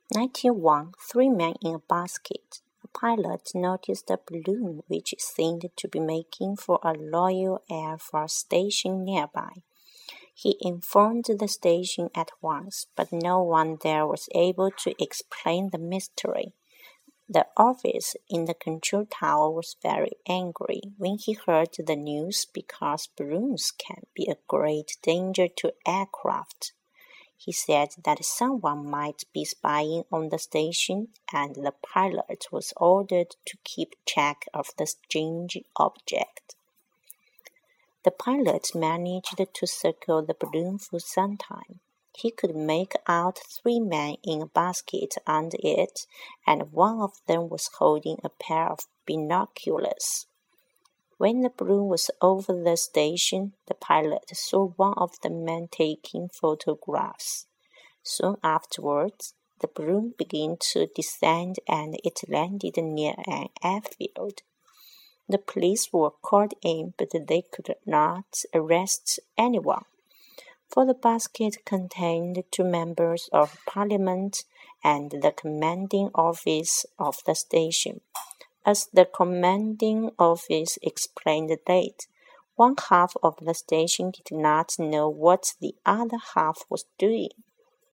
91. Three men in a basket. A pilot noticed a balloon which seemed to be making for a Royal Air Force station nearby. He informed the station at once, but no one there was able to explain the mystery. The officer in the control tower was very angry when he heard the news because balloons can be a great danger to aircraft. He said that someone might be spying on the station, and the pilot was ordered to keep track of the strange object. The pilot managed to circle the balloon for some time. He could make out three men in a basket under it, and one of them was holding a pair of binoculars. When the balloon was over the station, the pilot saw one of the men taking photographs. Soon afterwards, the balloon began to descend and it landed near an airfield. The police were called in, but they could not arrest anyone, for the basket contained two members of parliament and the commanding officer of the station. As the commanding officer explained later, one half of the station did not know what the other half was doing.